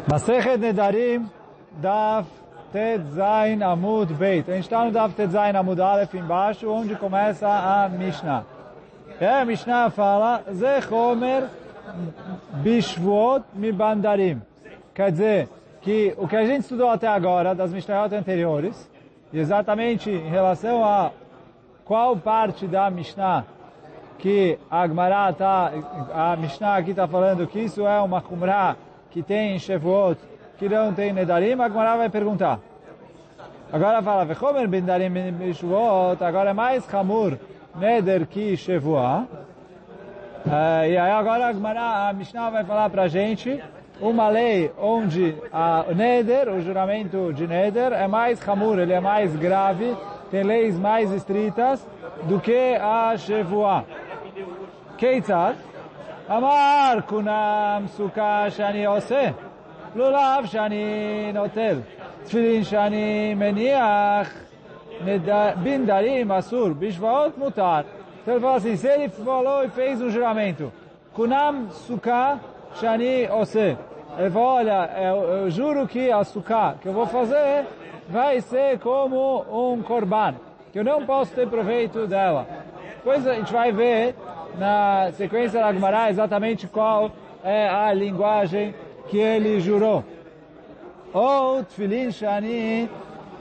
Masechet Nedarim, Daf Tet Zayin Amud Beit. A gente está no Daf Tet Zayin Amud Aleph embaixo, onde começa a Mishnah. E a Mishnah fala, Ze Chomer Bishvuot Mibandarim. Quer dizer, que o que a gente estudou até agora, das Mishnayot anteriores, exatamente em relação a qual parte da Mishnah que a Gemara a Mishnah aqui está falando que isso é uma Chumrah que tem Shevuot, que não tem Nedarim, a Gemara vai perguntar. Agora fala, Vechomer Bindarim Bishvuot, agora é mais Chamur Neder que Shevuah. E aí agora a Mishnah vai falar pra gente uma lei onde o Neder, o juramento de Neder, é mais Chamur, ele é mais grave, tem leis mais estritas do que a Shevuah. Keitzad? Amar kunam suka shani ose, lulav shani notel, tfilin shani meniach, bindarim asur, bishvaot mutar. Então ele fala assim, se ele falou e fez um juramento, kunam suka shani ose, ele falou, olha, eu juro que a suka que eu vou fazer vai ser como um korban, que eu não posso ter proveito dela. Depois a gente vai ver na sequência da Gemara exatamente qual é a linguagem que ele jurou. Ou tefilin shani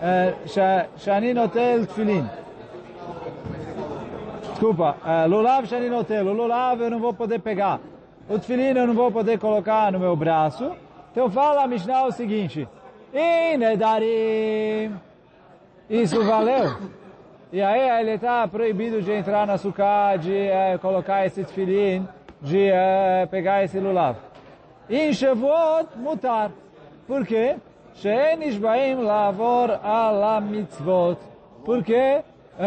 notel tefilin. Desculpa, lulav shani notel. O lulav eu não vou poder pegar. O tefilin eu não vou poder colocar no meu braço. Então fala a Mishnah o seguinte. Nedarim. Isso valeu. E aí ele está proibido de entrar na sukkah, de colocar esse tefilin, de pegar esse lulav. Em Shavuot, mutar. Por quê? She'en nishbaim lavor ala mitzvot. Por quê?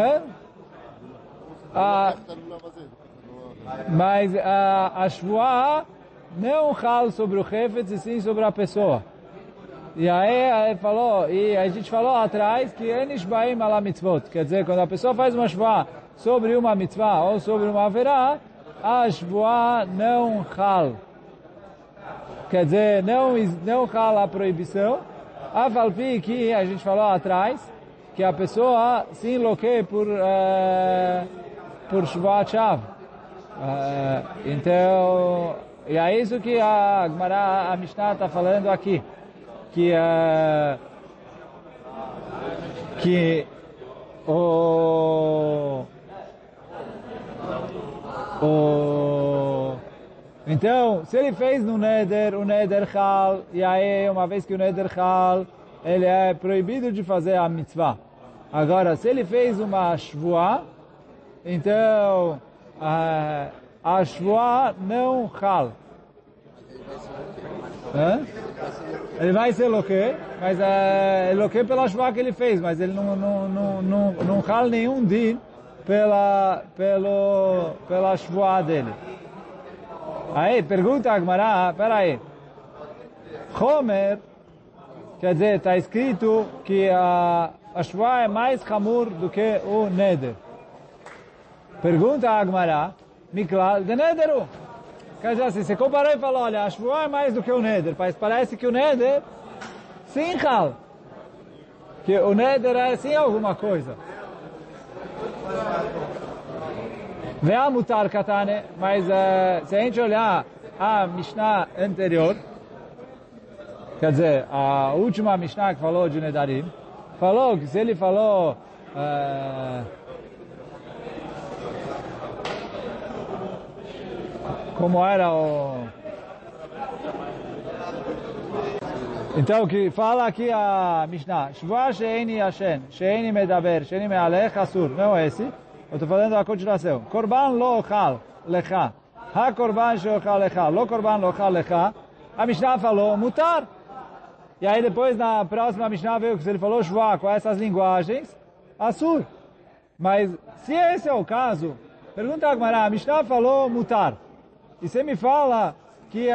Mas a Shvuah não fala sobre o Hefetz, e sim sobre a pessoa. E aí ele falou, e a gente falou atrás que Enish Baim ala mitzvot, quer dizer, quando a pessoa faz uma shvuah sobre uma mitzvah ou sobre uma averá, a shvuah não hal. Quer dizer, não hal a proibição, a falpi que a gente falou atrás, que a pessoa se enlouqueia por shvuah chav. Então, e é isso que a Gemara, a Mishnah está falando aqui. Então, se ele fez no Neder, o Neder Chal, e aí, uma vez que o Neder Chal, ele é proibido de fazer a mitzvah. Agora, se ele fez uma Shvuah, então, a Shvuah não Chal. Ele vai ser loquê, mas é loquê pela shvuah que ele fez, mas ele não hal nenhum din pela shvuah dele. Aí, pergunta a Gemara, peraí, Chomer, quer dizer, está escrito que a shvuah é mais chamur do que o neder. Pergunta a Gemara, Miklal de nederu. Quer dizer assim, você comparou e falou, olha, a Shvuah é mais do que o Neder, mas parece que o Neder, sim, Hal. Que o Neder é sim alguma coisa. Vê a mutar katane, mas se a gente olhar a Mishnah anterior, quer dizer, a última Mishnah que falou de Nedarim, falou que se ele falou... como era o... Então, que fala aqui a Mishnah. Shvuah she'eni yashen, she'eni medaber, she'eni me'alech asur. Não é esse. Eu estou falando a continuação. Korban lo ochal lecha. Ha korban she'ochal lecha. Lo korban lo ochal lecha. A Mishnah falou mutar. E aí depois, na próxima Mishnah, veio que se ele falou Shvuah com essas linguagens, asur. Mas, se esse é o caso, pergunta a Gemara, a Mishnah falou mutar. E você me fala que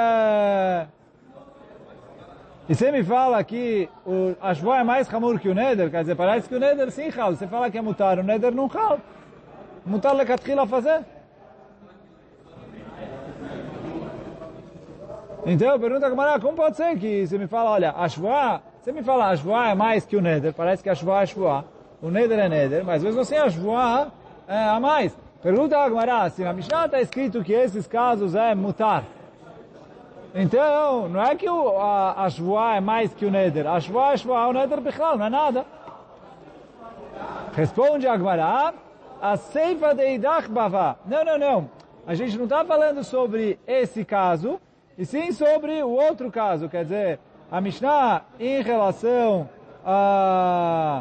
a shvuah é mais chamur que o neder, quer dizer, parece que o neder sim chal. Você fala que é mutar, o neder não chal. Mutar lecatchila fazer. Então, pergunta a Gemara, como pode ser que você me fala, olha, a Shvuah, você me fala, a Shvuah é mais que o Neder, parece que a Shvuah é Shvuah, o Neder é Neder, mas mesmo assim a Shvuah é a mais. Pergunta a Gemara, se na Mishnah está escrito que esses casos é mutar, então, não é que a Shvuah é mais que o Neder, a Shvuah é Shvuah, o Neder Bichlal, não é nada. Responde a Gemara, a Seifa de Idach Bavá. Não. A gente não está falando sobre esse caso, e sim sobre o outro caso. Quer dizer, a Mishnah em relação a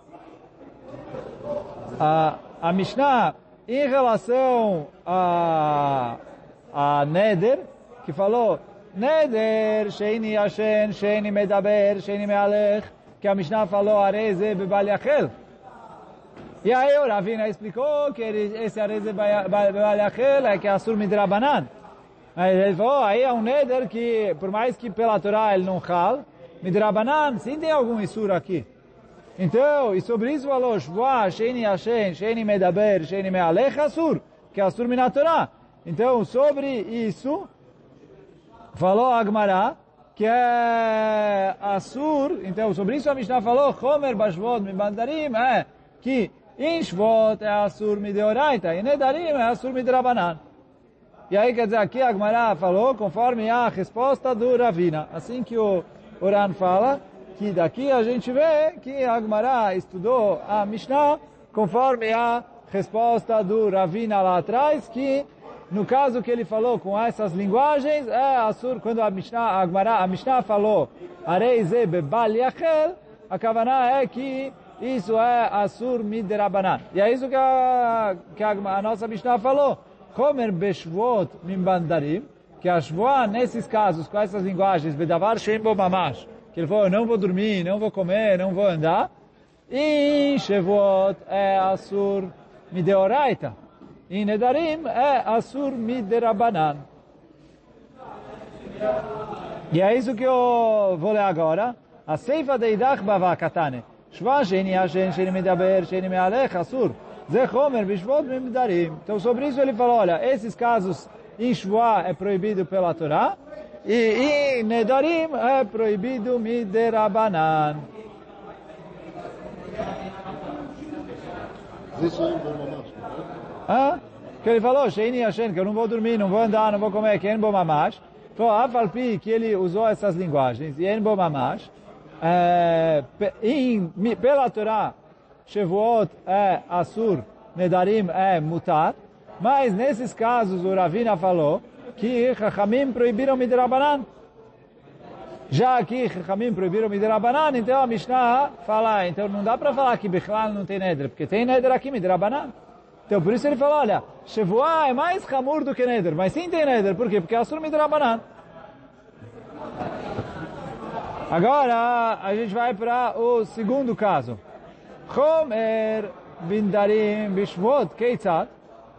Mishnah em relação a Neder, que falou Neder, Sheini Yashen, Sheini Medaber, Sheini Mealech, que a Mishnah falou Areze Bebal Yachel. E aí o Ravina explicou que esse Areze Bebal Yachel é que é Asur Midrabanan. Mas ele falou, aí é um Neder que, por mais que pela Torá ele não chal, Midrabanan, sim tem algum Isur aqui. Então, e sobre isso falou, Shvuah, Sheini Yashen, Sheini Medaber, Sheini Mealech, Asur, que é Asur Minat Torá. Então, sobre isso, falou a Gemara, que é Asur, então sobre isso a Mishnah falou, Chomer Bashvot Mibandarim, que em Shvot é Asur Mideoraita, e Nedarim é Asur Midrabanan. E aí, quer dizer, aqui a Gemara falou, conforme a resposta do Ravina. Assim que o Oran fala, que daqui a gente vê que a Gemara estudou a Mishnah, conforme a resposta do Ravina lá atrás, que no caso que ele falou com essas linguagens, é Asur, quando a Mishnah falou, Areize Bebal Yachel, a Kavanah é que isso é Asur Midrabanan. E é isso que a nossa Mishnah falou. Chomer Beshvot Mimbandarim, que a Shvuah, nesses casos, com essas linguagens, Bedavar Shem Bo Mamash, que ele falou, eu não vou dormir, não vou comer, não vou andar, e Shevot é Asur Mideoraita. E Nedarim é Asur Miderabanan. E é isso que eu vou ler agora. A Seifa de Idach Bava Katane. Shva Sheni Hashen Sheni Medaber Sheni Mealech Asur. Ze Chomer Bishvot Midarim. Então sobre isso ele falou, olha, esses casos em Shva é proibido pela Torá. E em Nedarim é proibido Miderabanan. Que ele falou, Sheini Hashem, que eu não vou dormir, não vou andar, não vou comer, que é Bo Mamash. Falou, Afalpi, que ele usou essas linguagens, e é Bo Mamash. Pela Torá, Shevuot é Asur, Nedarim é Mutar. Mas nesses casos, o Ravina falou que Chachamim proibiram Midrabanan. Já que Chachamim proibiram Midrabanan, então a Mishnah fala, então não dá para falar que Bichlal não tem Neder, porque tem Neder aqui, Midrabanan. Então por isso ele falou, olha, Shevuah é mais Hamur do que Neder, mas sim tem Neder, por quê? Porque é Asur Midrabanan. Agora a gente vai para o segundo caso. Chomer Bindarim Bishvot Keitzat.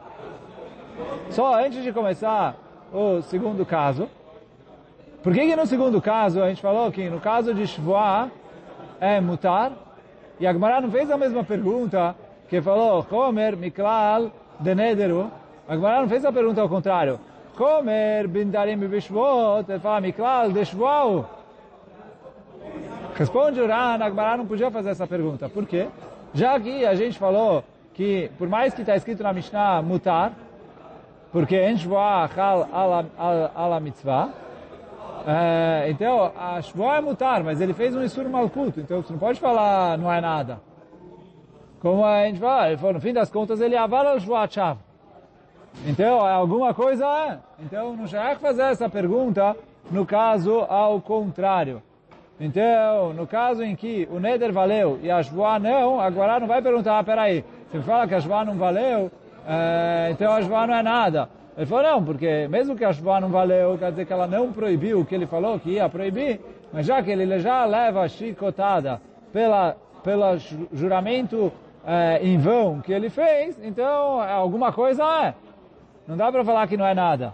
Só antes de começar o segundo caso, por que no segundo caso a gente falou que no caso de Shvuah é mutar, e a Gemara não fez a mesma pergunta, que falou Chomer Miklal de Nederu, a Gemara não fez a pergunta ao contrário, Chomer Bindarim Bishvot, ele fala Miklal de Shvuah. Responde o Ran, a Gemara não podia fazer essa pergunta, por quê? Já que a gente falou que, por mais que está escrito na Mishnah mutar, porque em Shvuah chal ala mitzvah, então a Shvuah é mutar, mas ele fez um Isur Malkut, então você não pode falar não é nada. Como a gente fala, ele falou, no fim das contas ele avala o Shvuah Chav. Então, alguma coisa é. Então não já é fazer essa pergunta no caso ao contrário. Então, no caso em que o Neder valeu e a Shvuah não, agora não vai perguntar, peraí, você fala que a Shvuah não valeu, então a Shvuah não é nada. Ele falou, não, porque mesmo que a Shvuah não valeu, quer dizer que ela não proibiu o que ele falou que ia proibir, mas já que ele já leva a chicotada pelo juramento em vão que ele fez, então alguma coisa é. Não dá para falar que não é nada.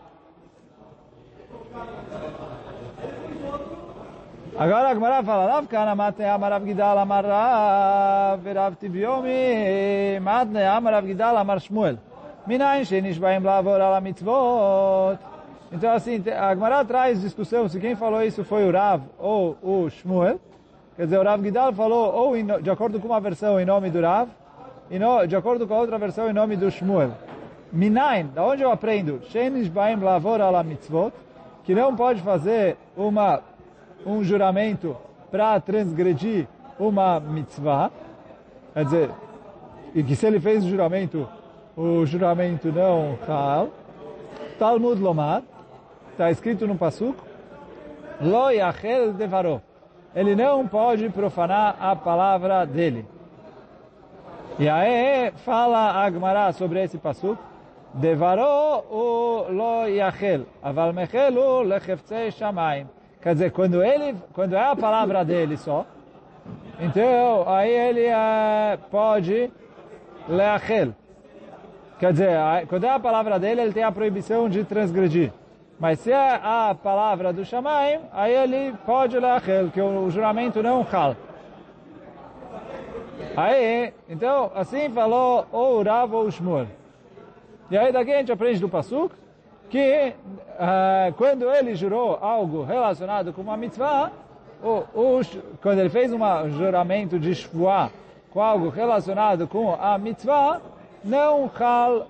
Agora a Gemara fala, Rav Kana matne amar Rav Gidal amar Rav, Rav Tibiomi matne amar Rav Gidal amar Shmuel. Minayin shenishbaim lavor ala mitzvot. Então, assim, a Gemara traz discussão se quem falou isso foi o Rav ou o Shmuel. Quer dizer, o Rav Gidal falou, ou de acordo com uma versão em nome do Rav, e de acordo com a outra versão em nome do Shmuel. Minain, da onde eu aprendo? Sheinish baim lavor ala mitzvot, que não pode fazer um juramento para transgredir uma mitzvah. Quer dizer, e que se ele fez o juramento não hal. Talmud Lomar, está escrito no Pasuk, Lo yachel devaro. Ele não pode profanar a palavra dele. E aí fala a Gemara sobre esse Pasuk, Devaro o lo yachel, aval mechelu lecheftzei shamayim. Quer dizer, quando é a palavra dele só, então aí ele pode leachel. Quer dizer, quando é a palavra dele, ele tem a proibição de transgredir. Mas se é a palavra do Shamayim, aí ele pode leachel, que o juramento não hal. Aí, então, assim falou o Rav ou o Shmuel. E aí daqui a gente aprende do Pasuk que quando ele jurou algo relacionado com uma mitzvah, quando ele fez um juramento de shvuah com algo relacionado com a mitzvah, não hal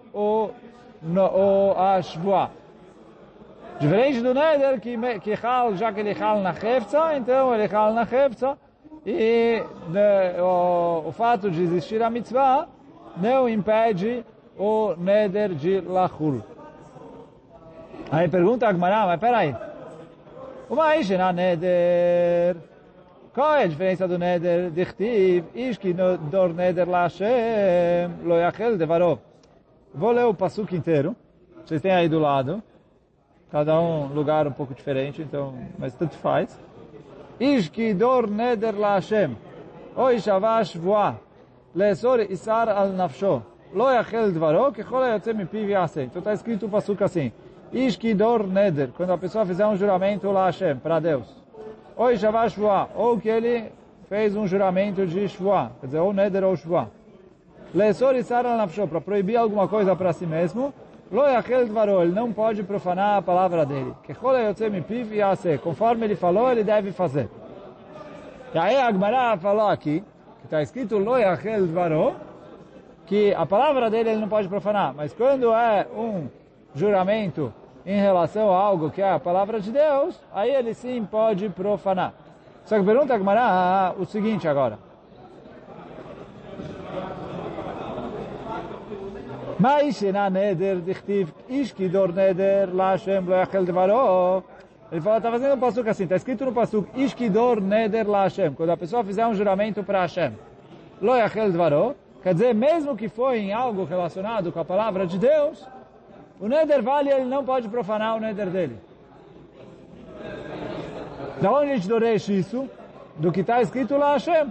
a shvuah. Diferente do neder, que hal, já que ele hal na hefza, então ele hal na hefza, e o fato de existir a mitzvah não impede o neder de lachul. Aí pergunta a Gemara, mas peraí, uma ishena neder, qual é a diferença do neder de chtiv, ishki dor neder la Hashem, lo yachel devaro. Vou ler o pasuk inteiro, vocês têm aí do lado, cada um lugar um pouco diferente, então, mas tanto faz. Ishki dor neder la Hashem, o ishava shvuah, leesor isar al nafsho, lo yachel devaro, kechol hayotze mipiv yaseh. Então está escrito o pasuk assim, Ishki dor neder, quando a pessoa fizer um juramento la Hashem, para Deus. Ou ishava shvuah, ou que ele fez um juramento de shvuah, quer dizer, ou neder ou shvuah. Leesor isar al nafsho, para proibir alguma coisa para si mesmo, lo yachel dvaro, ele não pode profanar a palavra dele. Kechol hayotze mipiv yaseh, conforme ele falou, ele deve fazer. E aí a Gemara falou aqui, que está escrito lo yachel dvaro, que a palavra dele ele não pode profanar, mas quando é um juramento em relação a algo que é a palavra de Deus, aí ele sim pode profanar. Só que pergunta a Gemara o seguinte agora. Mas na neder dichtiv ishki dor neder la Hashem lo yachel devaro. Ele fala, está fazendo um pasuk assim, está escrito no pasuk ishki dor neder la Hashem. Quando a pessoa fizer um juramento para Hashem, lo yachel devaro, quer dizer, mesmo que foi em algo relacionado com a palavra de Deus, o neder vale, ele não pode profanar o neder dele. Da onde a gente doreche isso? Do que está escrito lá Hashem.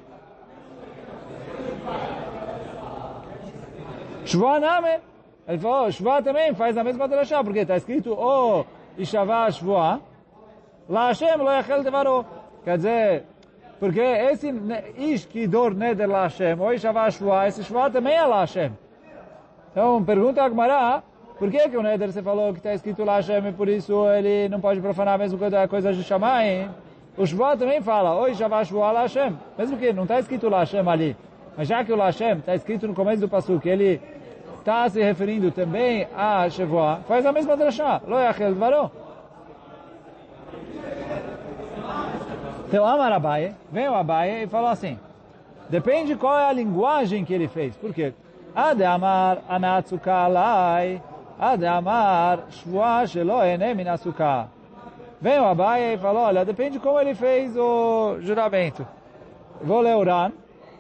Shvuah name. Ele falou, Shvuah também faz a mesma drashá, porque está escrito, o Ishavah Shvuah, lá Hashem lo yachel devaro. Quer dizer, porque esse ish que dor neder lá Hashem, o Ishavah Shvuah, esse Shvuah também é lá Hashem. Então, pergunta a Gemara, por que o neder você falou que está escrito lá Hashem e por isso ele não pode profanar mesmo quando é coisa de Shamayim? O Shvuah também fala, oi, Shavah Shvuah la Hashem. Mesmo que não está escrito lá Hashem ali, mas já que o la Hashem está escrito no começo do pasuk, ele está se referindo também a Shvuah, faz a mesma drashá, lo yachel dvaro. Então, Amar Abaye, vem o Abaye e falou assim, depende qual é a linguagem que ele fez. Por quê? Ade Amar anatzuka alai, Ade Amar shvuah shelo ene min asukah. Vem o Abaye e falou, olha, depende como ele fez o juramento. Vou ler o Ran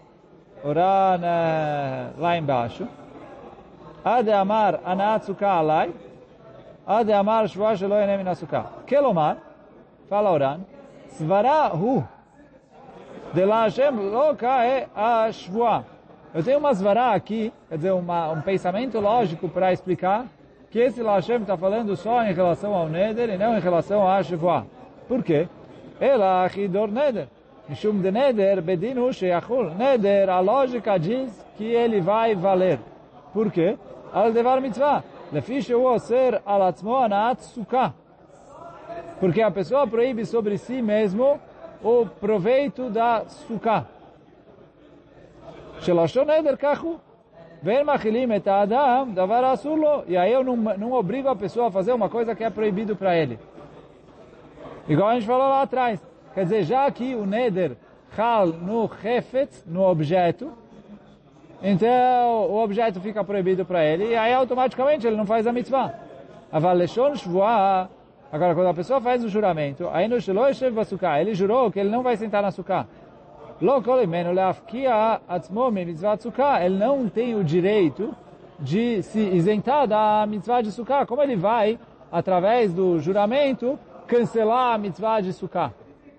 lá embaixo. Ade Amar anatzuka alai, Ade Amar shvuah shelo ene min asukah. Kelomar, fala o Ran, Svara hu, de la Hashem lo kae a shvuah. Eu tenho uma svara aqui, quer dizer, um pensamento lógico para explicar que esse la Hashem está falando só em relação ao neder e não em relação a shvuah. Por quê? Ela achidor neder. Mishum de neder bedinu sheyachul. Neder, a lógica diz que ele vai valer. Por quê? Al devar mitzvah. Lefi shehu oser al atzmo anaat sukkah. Porque a pessoa proíbe sobre si mesmo o proveito da sukkah. Shelashon neder kachu. Ven machilim et adam davar asur lo. E aí eu não obrigo a pessoa a fazer uma coisa que é proibido para ele. Igual a gente falou lá atrás. Quer dizer, já que o neder chal no chefetz, no objeto, então o objeto fica proibido para ele, e aí automaticamente ele não faz a mitzvah. Aval leshon shvuah. Agora, quando a pessoa faz o juramento, aí no shelo yeshev basukah, ele jurou que ele não vai sentar na sukkah. Lo kol imenu leafkia atzmo mitzvah sukkah. Ele não tem o direito de se isentar da mitzvah de sukkah. Como ele vai, através do juramento, cancelar a mitzvah de sukkah?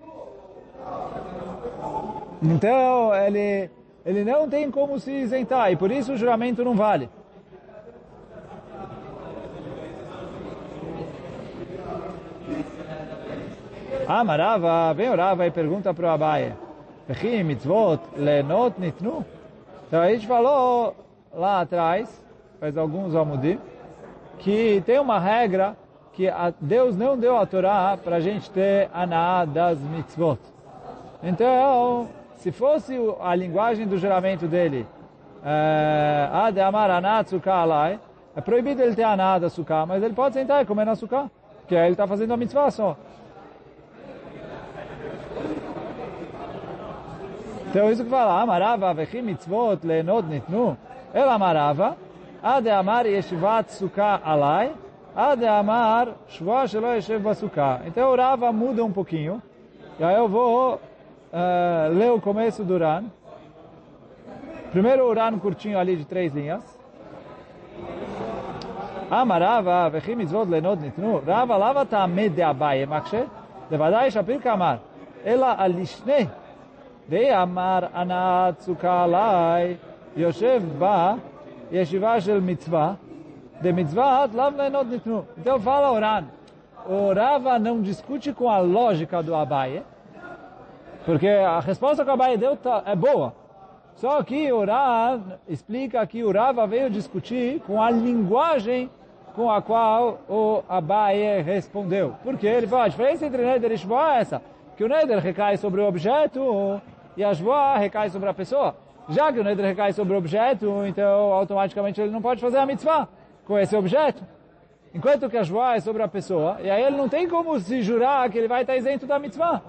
Então, ele não tem como se isentar, e por isso o juramento não vale. Marava, vem o Rava e pergunta para o Abaye, Vechi mitzvot lenot nitnu? Então a gente falou lá atrás, faz alguns amudim, que tem uma regra que Deus não deu a Torá para a gente ter aná das mitzvot. Então, se fosse a linguagem do juramento dele, Ade amar aná tzukah alai, é proibido ele ter aná da sukkah, mas ele pode sentar e comer na sukkah, porque aí ele está fazendo a mitzvah só. Então isso que fala, Amarava, Vechi mitzvot lenot nitnu, El Amarava, Ade amar yeshivat sukkah alai, Ade amar shvua shelo yeshev basukah. Então o Rava muda um pouquinho, e aí eu vou ler o começo do Ran. Primeiro o Ran curtinho ali de 3 linhas. Amarava, Vechi mitzvot lenot nitnu, Rava lava ta'amed de Abaye makshe, levadai shapir kamar, ela alishne, de amar anat sukkah alai, yoshev ba, yeshiva shel mitzvah, de mitzvah lav lenot nitnu. Então fala Oran, o Rava não discute com a lógica do Abaye, porque a resposta que o Abaye deu é boa. Só que o Oran explica que o Rava veio discutir com a linguagem com a qual o Abaye respondeu. Porque ele fala, a diferença entre neder e shvuah é essa, que o neder recai sobre o objeto e a shvuah recai sobre a pessoa. Já que o neder recai sobre o objeto, então automaticamente ele não pode fazer a mitzvah com esse objeto. Enquanto que a shvuah é sobre a pessoa, e aí ele não tem como se jurar que ele vai estar isento da mitzvah.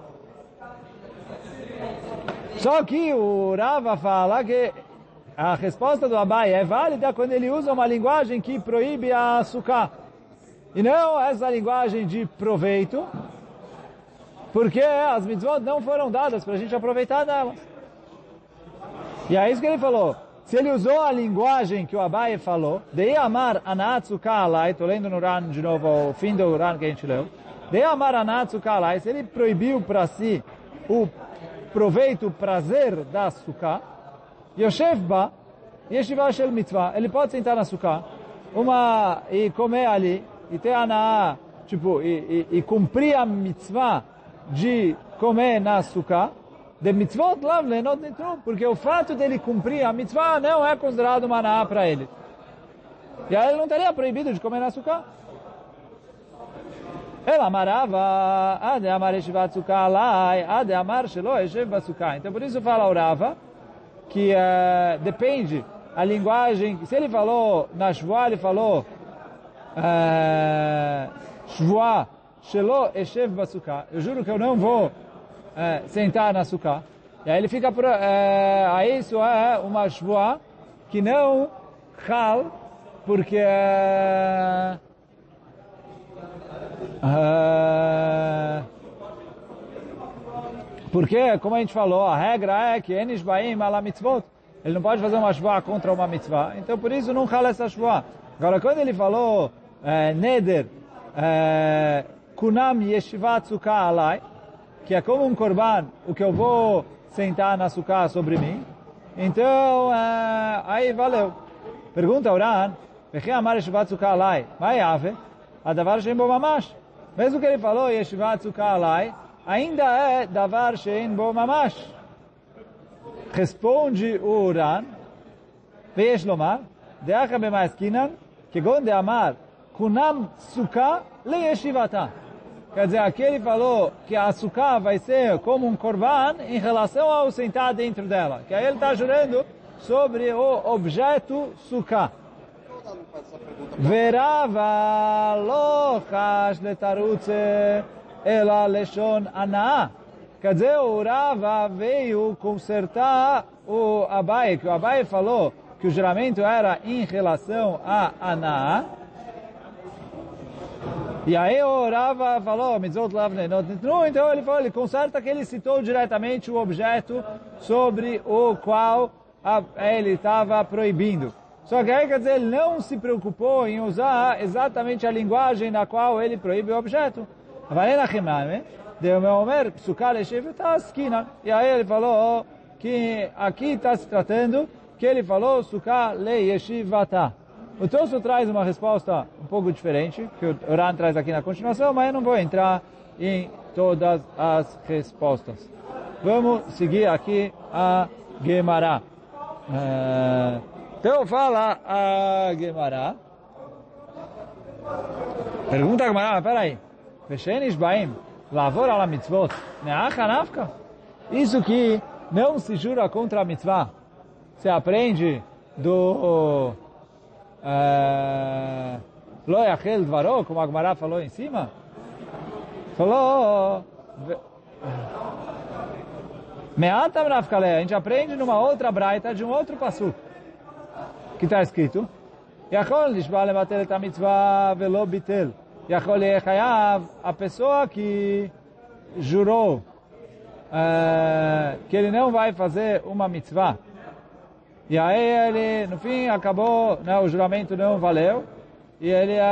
Só que o Rava fala que a resposta do Abaye é válida quando ele usa uma linguagem que proíbe a sukkah. E não essa linguagem de proveito, porque as mitzvot não foram dadas para a gente aproveitar delas. E é isso que ele falou. Se ele usou a linguagem que o Abaye falou, de amar anat sukkah alai, estou lendo no Ran de novo, o fim do Ran que a gente leu, de amar anat sukkah alai, se ele proibiu para si o proveito, o prazer da sukkah, yoshev ba, yeshiva shel mitzvah, ele pode sentar na sukkah, e comer ali, e ter aná, tipo, e cumprir a mitzvah de comer na sukkah, de mitzvot lav lenot nitnu, porque o fato dele cumprir a mitzvah não é considerado uma aná para ele. E aí ele não estaria proibido de comer na sukkah. Ela amarava, ade amar yeshivat sukkah alai, ade amar shelo yeshev basukah. Então por isso fala o Rava, que depende a linguagem, se ele falou na shvuah, ele falou shvuah shelo yeshev basukah, eu juro que eu não vou sentar na sukkah. E aí ele fica aí isso é uma shvuah que não chal, porque porque, como a gente falou, a regra é que enish baim ala mitzvot, ele não pode fazer uma shvuah contra uma mitzvah, então por isso não chal essa shvuah. Agora, quando ele falou neder kunam yeshivat sukkah alai, que é como um korban, o que eu vou sentar na sukkah sobre mim, então aí valeu. Pergunta Oran, vechi amar yeshivat sukkah alai, ma yave, adavar shein bo mamash. Mesmo que ele falou yeshivat sukkah alai, ainda é davar shein bo mamash. Responde o Oran, ve'yesh lomar, de'acha b'ma'askinan, que gonde amar kunam sukkah le yeshivata. Quer dizer, aqui ele falou que a sukkah vai ser como um korban em relação ao sentar dentro dela. Que aí ele está jurando sobre o objeto sukkah. Verava lo chash letarutze ela leshon anaa. Quer dizer, o Rava veio consertar o Abai, que o Abai falou que o juramento era em relação a anaa. E aí o Rava falou, então ele falou, ele conserta que ele citou diretamente o objeto sobre o qual ele estava proibindo. Só que aí, quer dizer, ele não se preocupou em usar exatamente a linguagem na qual ele proíbe o objeto. E aí ele falou que aqui está se tratando que ele falou Sukkah le yeshivata. O Tosso traz uma resposta um pouco diferente, que o Ran traz aqui na continuação, mas eu não vou entrar em todas as respostas. Vamos seguir aqui a Gemara. Então fala a Gemara. Pergunta a Gemara, mas peraí. Veshenis baim, lavor ala mitzvot, neacha nafka? Isso que não se jura contra a mitzvah, se aprende do Lo yachel dvaro, como a Gemara falou em cima. Falou Me'atam nafkaleh, a gente aprende numa outra braita de um outro pasuk que está escrito Yachol nishba levatel et mitzvah velo bitel. Yachol yechayav, a pessoa que jurou que ele não vai fazer uma mitzvah. E aí ele, no fim, acabou, o juramento não valeu, e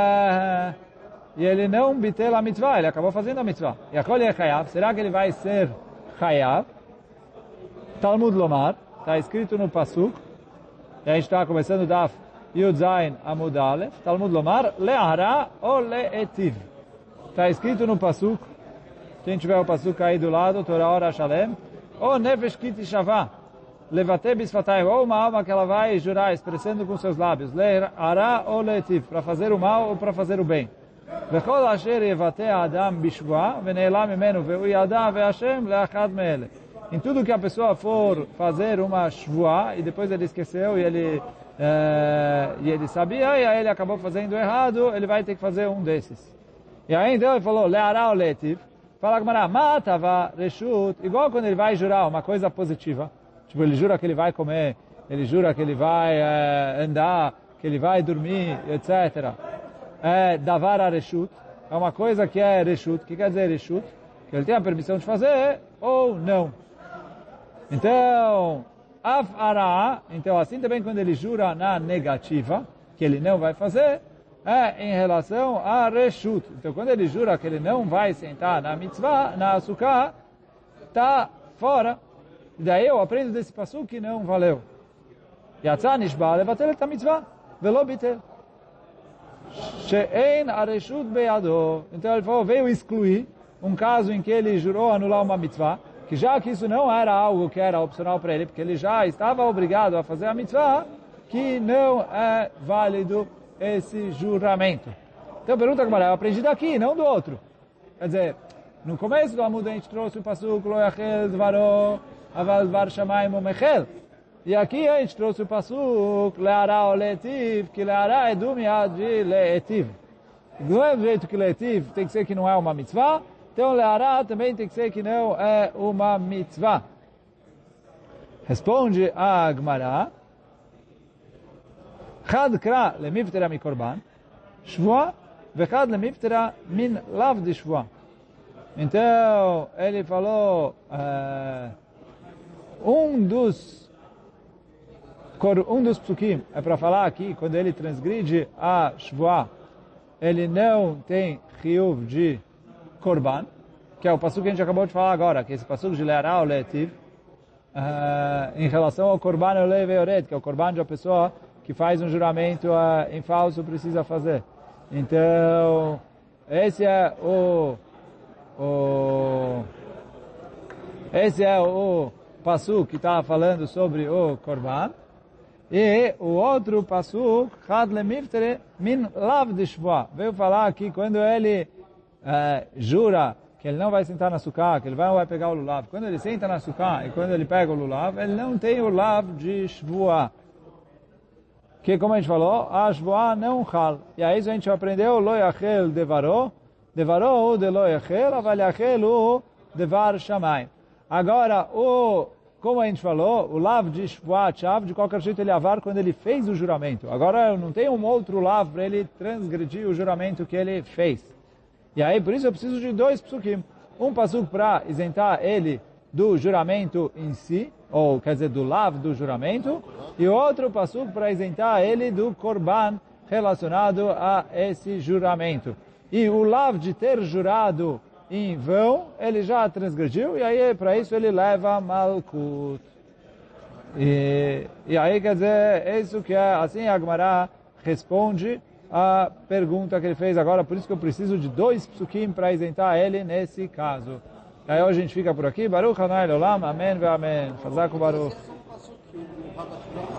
ele não bitel a mitzvah, ele acabou fazendo a mitzvah. Yachol yechayav, será que ele vai ser chayav? Talmud Lomar, está escrito no pasuk, e a gente está começando Daf Yud Zayin Amud Aleph, Talmud Lomar, le'ara ou le'etiv. Está escrito no pasuk, quem tiver o pasuk aí do lado, Torah Ora Shalem, ou nefesh kiti shavah, levate bisfatayim, ou uma alma que ela vai jurar, expressando com seus lábios, le'ara ou le'etiv, para fazer o mal ou para fazer o bem. Vechol asher yevate adam bishvua, vene'elam mimenu, ve'u yada ve'ashem le'achad me'ele. Em tudo que a pessoa for fazer uma shvuah, e depois ele esqueceu, e ele sabia, e aí ele acabou fazendo errado, ele vai ter que fazer um desses. E aí então ele falou, le'ara ou le'etiv, fala Gemara, matava reshut, igual quando ele vai jurar uma coisa positiva, tipo ele jura que ele vai comer, ele jura que ele vai andar, que ele vai dormir, etc. Davar a reshut, é uma coisa que é reshut, que quer dizer reshut? Que ele tem a permissão de fazer ou não. Então, então assim também quando ele jura na negativa, que ele não vai fazer, em relação a reshut. Então quando ele jura que ele não vai sentar na mitzvah, na sukkah, está fora. E daí eu aprendo desse pasuk que não valeu. Yatzah nishba levatel et mitzvah, velo bitel. She'ein areshut beyado. Então ele falou, veio excluir um caso em que ele jurou anular uma mitzvah, que já que isso não era algo que era opcional para ele, porque ele já estava obrigado a fazer a mitzvah, que não é válido esse juramento. Então pergunta como eu aprendi daqui, não do outro. Quer dizer, no começo do Amud a gente trouxe o pasuk lo yachel dvaro aval dvar shamayim umechel. E aqui a gente trouxe o pasuk le'ara ou le'etiv, que le'ara é do miad de le'etiv. Do mesmo jeito que le'etiv tem que ser que não é uma mitzvah, então le'ara também tem que ser que não é uma mitzvah. Responde a Gemara, Chad kra lemiftera mi korban, shvua, vechad lemiftera min lav de shvua. Então, ele falou, um dos psukim é para falar aqui, quando ele transgride a shvua, ele não tem chiyuv de korban, que é o pasuk que a gente acabou de falar agora, que é esse pasuk de le'ara ou le'etiv, em relação ao korban olei ve'ored, que é o korban de uma pessoa que faz um juramento em falso precisa fazer. Então, esse é o pasuk que está falando sobre o korban. E o outro pasuk, Chad lemiftere min lav de shvoa. Veio falar que quando ele jura que ele não vai sentar na sukkah, que ele vai pegar o lulav. Quando ele senta na sukkah e quando ele pega o lulav, ele não tem o lav de shvoa. Que, como a gente falou, a shvoa não chal. E aí a gente aprendeu lo yachel devaro, devaro de lo yachel, aval yachel o devar shamayim. Agora, como a gente falou, o lav de shvoa chav, de qualquer jeito ele avar quando ele fez o juramento. Agora não tem um outro lav para ele transgredir o juramento que ele fez. E aí, por isso eu preciso de 2 psukim. Um pasuk para isentar ele do juramento em si, ou quer dizer, do lav do juramento, e outro pasuk para isentar ele do korban relacionado a esse juramento. E o lav de ter jurado em vão, ele já transgrediu, e aí para isso ele leva malkut. E aí quer dizer, isso que é, assim a Gemara responde a pergunta que ele fez agora, por isso que eu preciso de 2 psukim para isentar ele nesse caso. Aí hoje a gente fica por aqui. Baruch Hanai Olam, Amém ve Amém. Chazak Baruch.